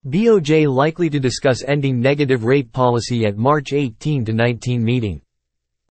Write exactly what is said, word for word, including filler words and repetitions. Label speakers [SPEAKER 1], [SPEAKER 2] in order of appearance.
[SPEAKER 1] B O J likely to discuss ending negative rate policy at March eighteen to nineteen meeting.